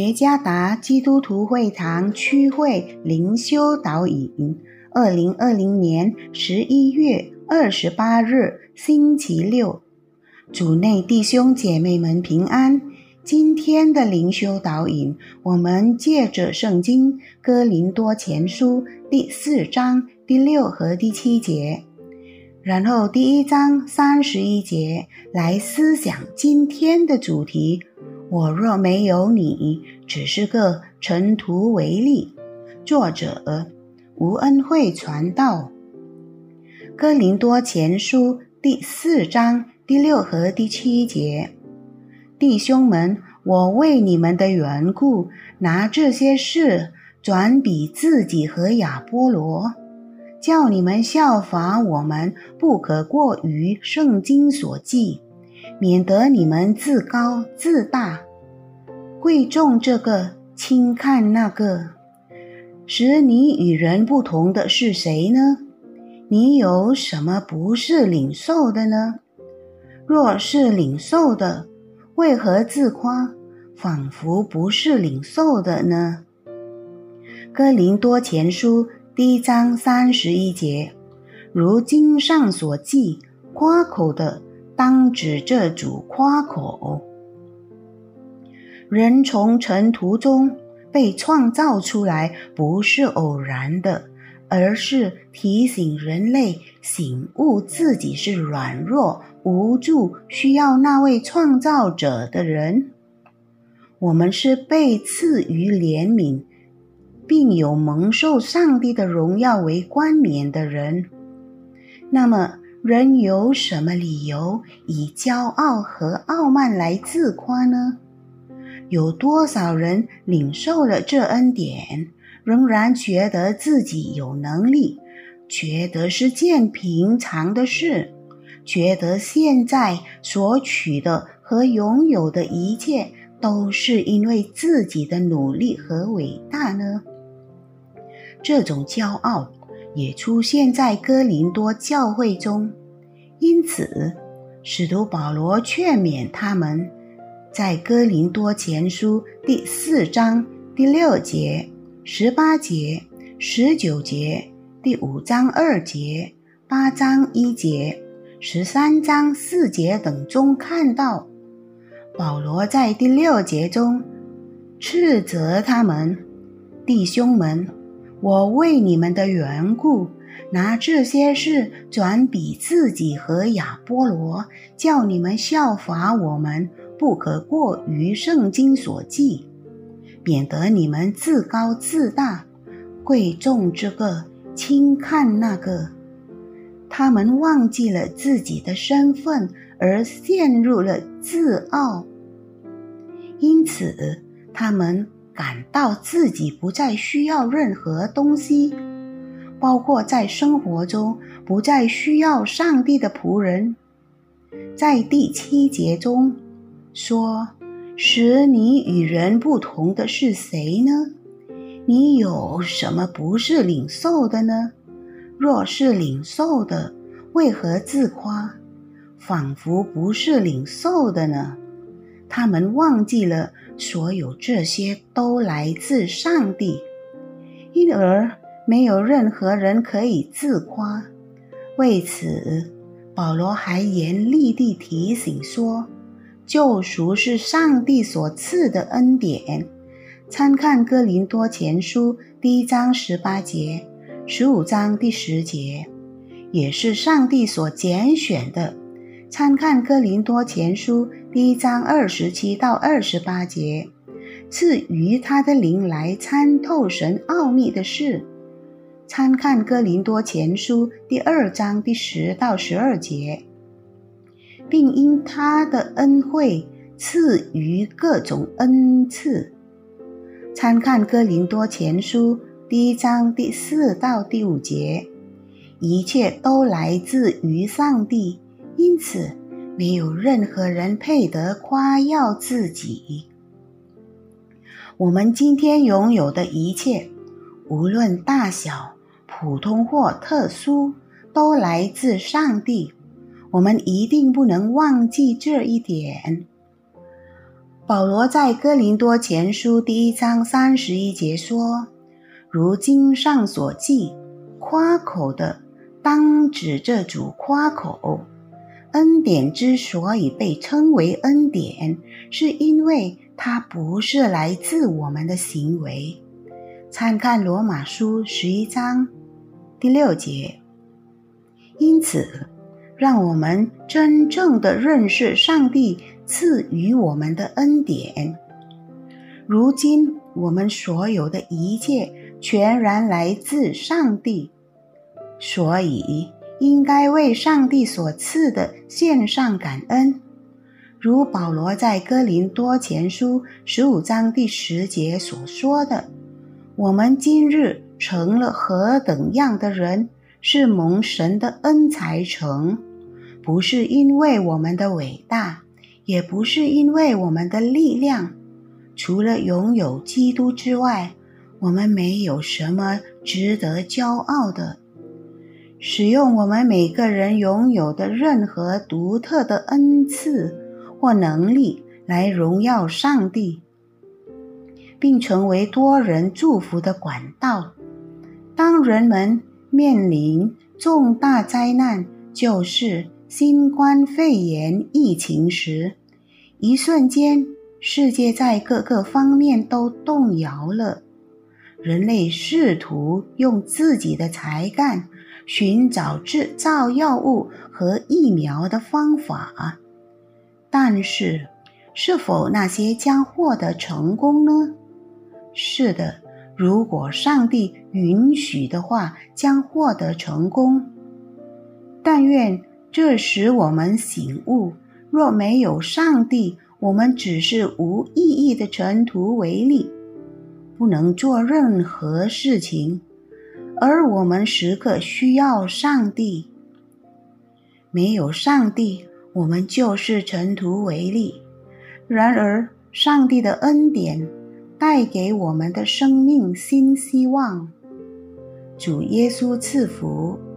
耶加达基督徒会堂区会灵修导引，2020年11月28日星期六，主内弟兄姐妹们平安。今天的灵修导引，我们借着圣经哥林多前书第4章第6和第7节，然后第1章31节来思想今天的主题：我若没有你，只是个尘土为例。作者吴恩惠传道。哥林多前书第4章第6和第7节，弟兄们，我为你们的缘故，拿这些事转比自己和亚波罗，叫你们效法我们，不可过于圣经所记，免得你们自高自大，贵重这个，轻看那个。使你与人不同的是谁呢？你有什么不是领受的呢？若是领受的，为何自夸，仿佛不是领受的呢？哥林多前书第1章31节，如经上所记，夸口的当指着主夸口。人从尘土中被创造出来，不是偶然的，而是提醒人类醒悟自己是软弱、无助，需要那位创造者的人。我们是被赐予怜悯，并有蒙受上帝的荣耀为冠冕的人。那么，人有什么理由以骄傲和傲慢来自夸呢？有多少人领受了这恩典，仍然觉得自己有能力，觉得是件平常的事，觉得现在所取的和拥有的一切都是因为自己的努力和伟大呢？这种骄傲也出现在哥林多教会中，因此使徒保罗劝勉他们，在哥林多前书第4章第6节、18节、19节、第5章2节、8章1节、13章4节等中看到，保罗在第6节中斥责他们：弟兄们，我为你们的缘故，拿这些事转比自己和亚波罗，叫你们效法我们，不可过于圣经所记，免得你们自高自大，贵重这个，轻看那个。他们忘记了自己的身份，而陷入了自傲，因此他们感到自己不再需要任何东西，包括在生活中不再需要上帝的仆人。在第7节中说，使你与人不同的是谁呢？你有什么不是领受的呢？若是领受的，为何自夸，仿佛不是领受的呢？他们忘记了所有这些都来自上帝，因而没有任何人可以自夸。为此，保罗还严厉地提醒说，救赎是上帝所赐的恩典。参看哥林多前书第1章18节、15章第10节，也是上帝所拣选的。参看哥林多前书第1章27到28节，赐予他的灵来参透神奥秘的事。参看哥林多前书第2章第10到12节，并因他的恩惠赐予各种恩赐。参看哥林多前书第1章第4到第5节，一切都来自于上帝，因此没有任何人配得夸耀自己。我们今天拥有的一切，无论大小、普通或特殊，都来自上帝。我们一定不能忘记这一点。 保罗在哥林多前书第1章31节说，如经上所记，夸口的当指着主夸口。恩典之所以被称为恩典，是因为它不是来自我们的行为。参看罗马书11章第6节。因此，让我们真正的认识上帝赐予我们的恩典。如今我们所有的一切全然来自上帝，所以应该为上帝所赐的献上感恩。如保罗在哥林多前书15章第10节所说的，我们今日成了何等样的人，是蒙神的恩才成，不是因为我们的伟大，也不是因为我们的力量。除了拥有基督之外，我们没有什么值得骄傲的。使用我们每个人拥有的任何独特的恩赐或能力来荣耀上帝，并成为多人祝福的管道。当人们面临重大灾难，就是新冠肺炎疫情时，一瞬间世界在各个方面都动摇了。人类试图用自己的才干寻找制造药物和疫苗的方法，但是是否那些将获得成功呢？是的，如果上帝允许的话，将获得成功。但愿这使我们醒悟，若没有上帝，我们只是无意义的尘土为例，不能做任何事情，而我们时刻需要上帝。没有上帝，我们就是尘土为例。然而，上帝的恩典带给我们的生命新希望。主耶稣赐福。